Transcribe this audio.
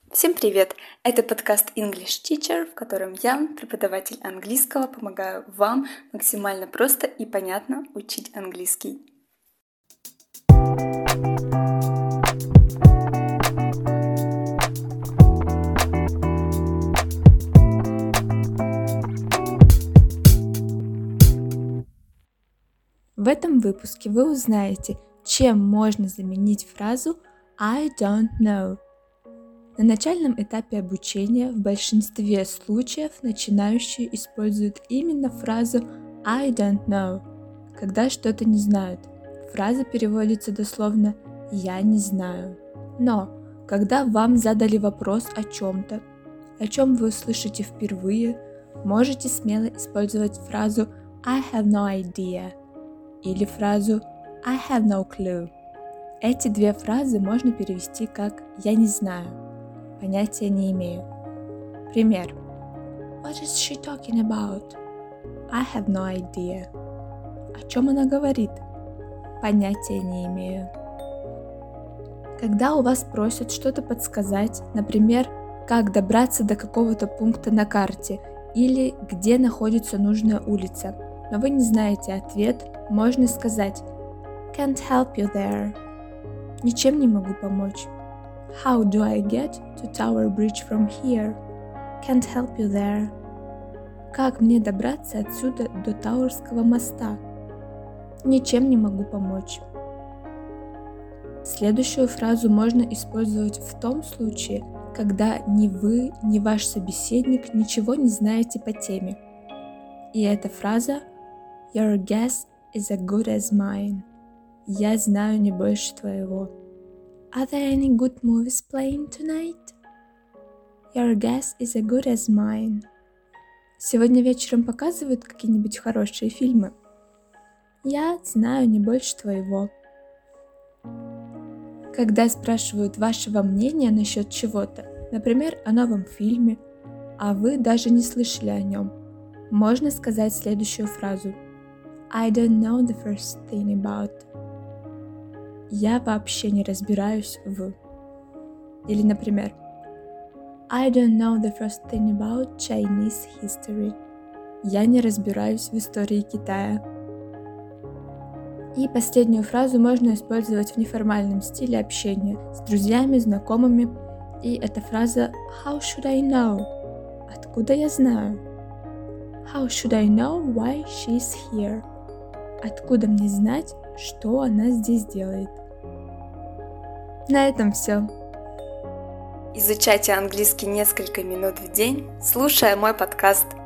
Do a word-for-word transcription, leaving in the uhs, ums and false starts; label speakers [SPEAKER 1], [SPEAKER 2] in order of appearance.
[SPEAKER 1] Всем привет! Это подкаст English Teacher, в котором я, преподаватель английского, помогаю вам максимально просто и понятно учить английский. В этом выпуске вы узнаете, чем можно заменить фразу I don't know. На начальном этапе обучения в большинстве случаев начинающие используют именно фразу I don't know, когда что-то не знают. Фраза переводится дословно «я не знаю». Но, когда вам задали вопрос о чем-то, о чем вы услышите впервые, можете смело использовать фразу I have no idea или фразу I have no clue. Эти две фразы можно перевести как «я не знаю». Понятия не имею. Пример. What is she talking about? I have no idea. О чем она говорит? Понятия не имею. Когда у вас просят что-то подсказать, например, как добраться до какого-то пункта на карте или где находится нужная улица, но вы не знаете ответ, можно сказать Can't help you there. Ничем не могу помочь. How do I get to Tower Bridge from here? Can't help you there. Как мне добраться отсюда до Тауэрского моста? Ничем не могу помочь. Следующую фразу можно использовать в том случае, когда ни вы, ни ваш собеседник ничего не знаете по теме. И эта фраза Your guess is as good as mine. Я знаю не больше твоего. Are there any good movies playing tonight? Your guess is as good as mine. Сегодня вечером показывают какие-нибудь хорошие фильмы? Я знаю не больше твоего. Когда спрашивают вашего мнения насчет чего-то, например, о новом фильме, а вы даже не слышали о нем, можно сказать следующую фразу I don't know the first thing about. Я вообще не разбираюсь в. Или, например, I don't know the first thing about Chinese history. Я не разбираюсь в истории Китая. И последнюю фразу можно использовать в неформальном стиле общения с друзьями, знакомыми. И эта фраза How should I know? Откуда я знаю? How should I know why she's here? Откуда мне знать, что она здесь делает? На этом все. Изучайте английский несколько минут в день, слушая мой подкаст.